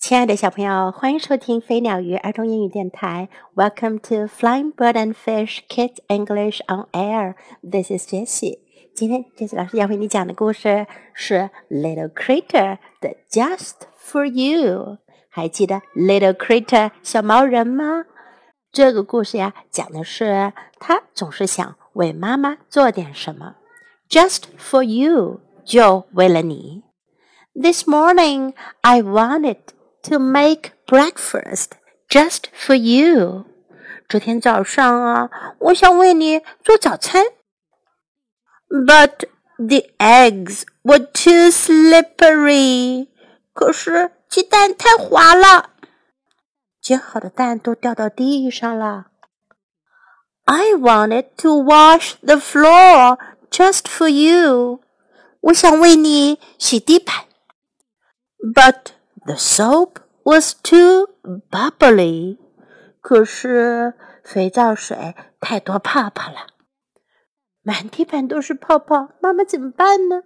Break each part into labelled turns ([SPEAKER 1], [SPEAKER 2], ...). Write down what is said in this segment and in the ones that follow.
[SPEAKER 1] 亲爱的小朋友，欢迎收听飞鸟鱼儿童英语电台。Welcome to Flying Bird and Fish Kids English on Air. This is Jessie. 今天 Jessie 老师要为你讲的故事是 Little Critter 的 Just for You。还记得 Little Critter 小毛人吗？这个故事呀，讲的是他总是想为妈妈做点什么。Just for you， 就为了你。This morning, I wanted to make breakfast just for you. 昨天早上啊，我想为你做早餐。But the eggs were too slippery. 可是鸡蛋太滑了，煎好的蛋都掉到地上了。I wanted to wash the floor just for you. 我想为你洗地板。But the soap was too bubbly. 可是肥皂水太多泡泡了，满地板都是泡泡，妈妈怎么办呢？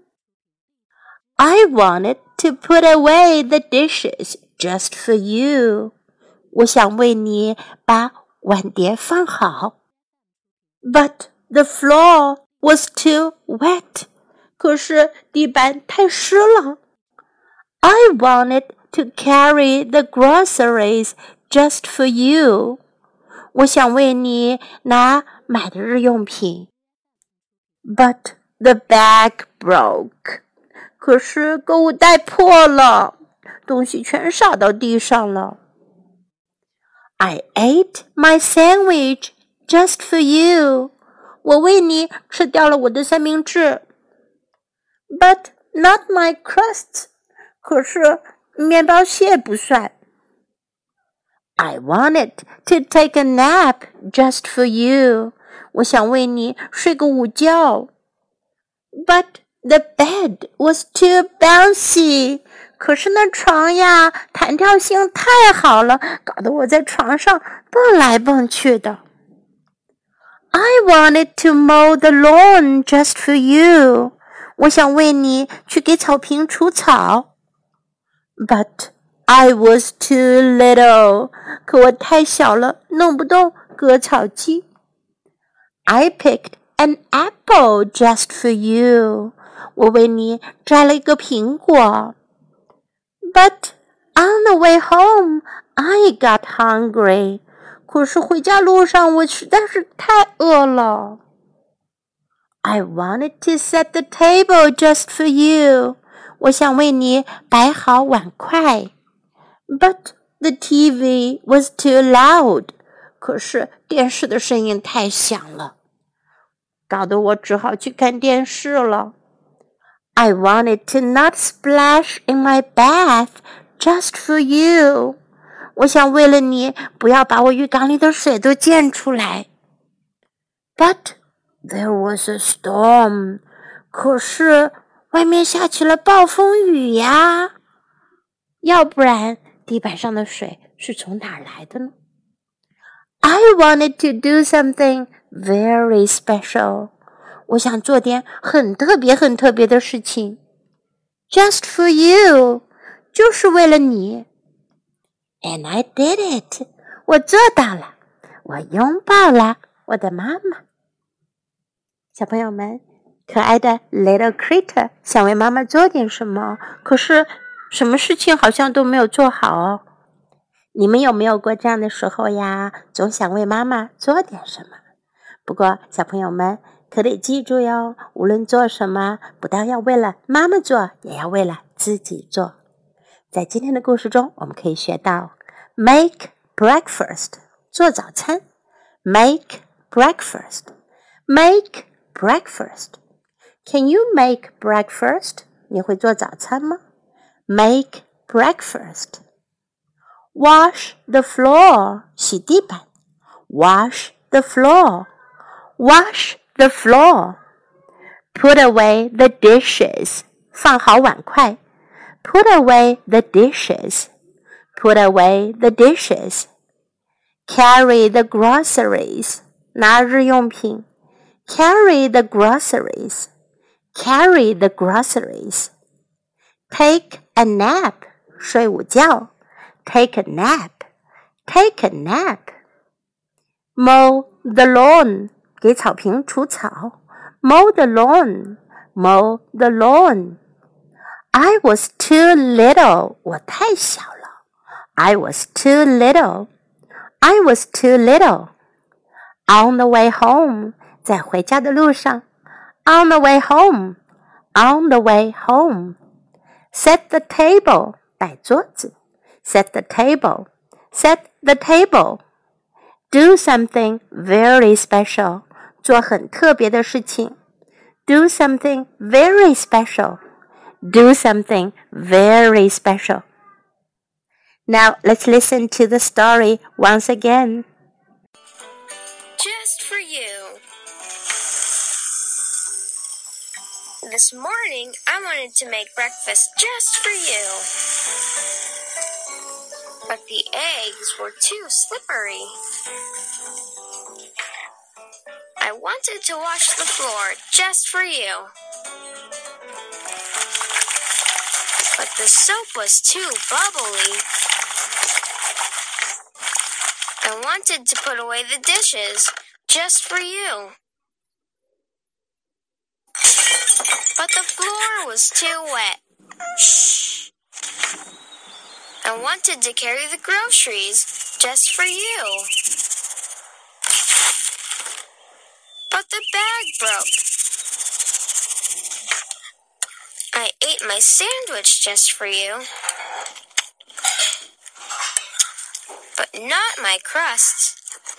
[SPEAKER 1] I wanted to put away the dishes just for you. 我想为你把碗碟放好。But the floor was too wet. 可是地板太湿了。I wanted to carry the groceries just for you. 我想为你拿买的日用品。But the bag broke. 可是购物袋破了，东西全洒到地上了。I ate my sandwich just for you. 我为你吃掉了我的三明治。But not my crusts.可是面包屑不算。I wanted to take a nap just for you. 我想为你睡个午觉。But the bed was too bouncy. 可是那床呀，弹跳性太好了，搞得我在床上蹦来蹦去的。I wanted to mow the lawn just for you. 我想为你去给草坪除草。But I was too little. 可我太小了，弄不动割草机。I picked an apple just for you. 我为你摘了一个苹果。But on the way home, I got hungry. 可是回家路上我实在是太饿了。I wanted to set the table just for you.我想为你摆好碗筷。But the TV was too loud. 可是电视的声音太响了，搞得我只好去看电视了。I wanted to not splash in my bath just for you. 我想为了你不要把我浴缸里的水都溅出来。But there was a storm. 可是外面下起了暴风雨呀，要不然地板上的水是从哪儿来的呢？ I wanted to do something very special. 我想做点很特别很特别的事情。Just for you. 就是为了你。And I did it. 我做到了，我拥抱了我的妈妈。小朋友们，可爱的 Little Critter 想为妈妈做点什么，可是什么事情好像都没有做好哦。你们有没有过这样的时候呀？总想为妈妈做点什么。不过小朋友们可得记住哟，无论做什么，不但要为了妈妈做，也要为了自己做。在今天的故事中，我们可以学到 Make breakfast 做早餐。 Make breakfast Make breakfast。Can you make breakfast? 你会做早餐吗？ Make breakfast. Wash the floor. 洗地板。Wash the floor. Wash the floor. Put away the dishes. 放好碗筷。Put away the dishes. Put away the dishes. Carry the groceries. 拿日用品。Carry the groceries. Carry the groceries. Take a nap. 睡午觉。 Take a nap. Take a nap. Mow the lawn. 给草坪除草。Mow the lawn. Mow the lawn. I was too little. 我太小了。I was too little. I was too little. On the way home. 在回家的路上。On the way home. On the way home. Set the table. 摆桌子。Set the table. Set the table. Do something very special. 做很特别的事情。Do something very special. Do something very special. Now let's listen to the story once again.
[SPEAKER 2] Just for you. This morning, I wanted to make breakfast just for you. But the eggs were too slippery. I wanted to wash the floor just for you. But the soap was too bubbly. I wanted to put away the dishes just for you. But the floor was too wet. Shh. I wanted to carry the groceries just for you. But the bag broke. I ate my sandwich just for you. But not my crust.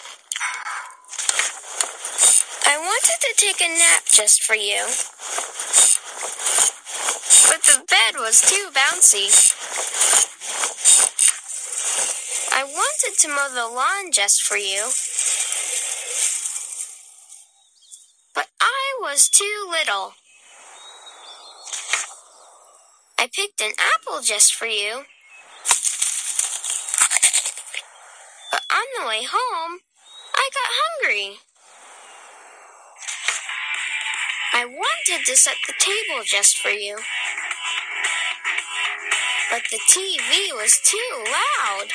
[SPEAKER 2] I wanted to take a nap just for you. But the bed was too bouncy. I wanted to mow the lawn just for you. But I was too little. I picked an apple just for you. But on the way home, I got hungry. I wanted to set the table just for you. But the TV was too loud.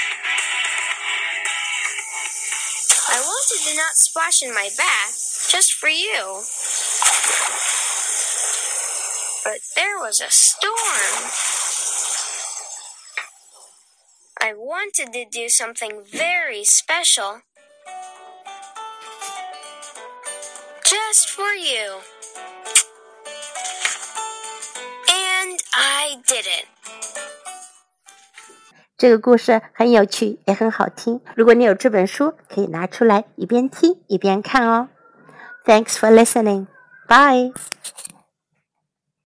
[SPEAKER 2] I wanted to not splash in my bath just for you. But there was a storm. I wanted to do something very special. Just for you. And I did it.
[SPEAKER 1] 这个故事很有趣，也很好听。如果你有这本书，可以拿出来一边听一边看哦。Thanks for listening. Bye.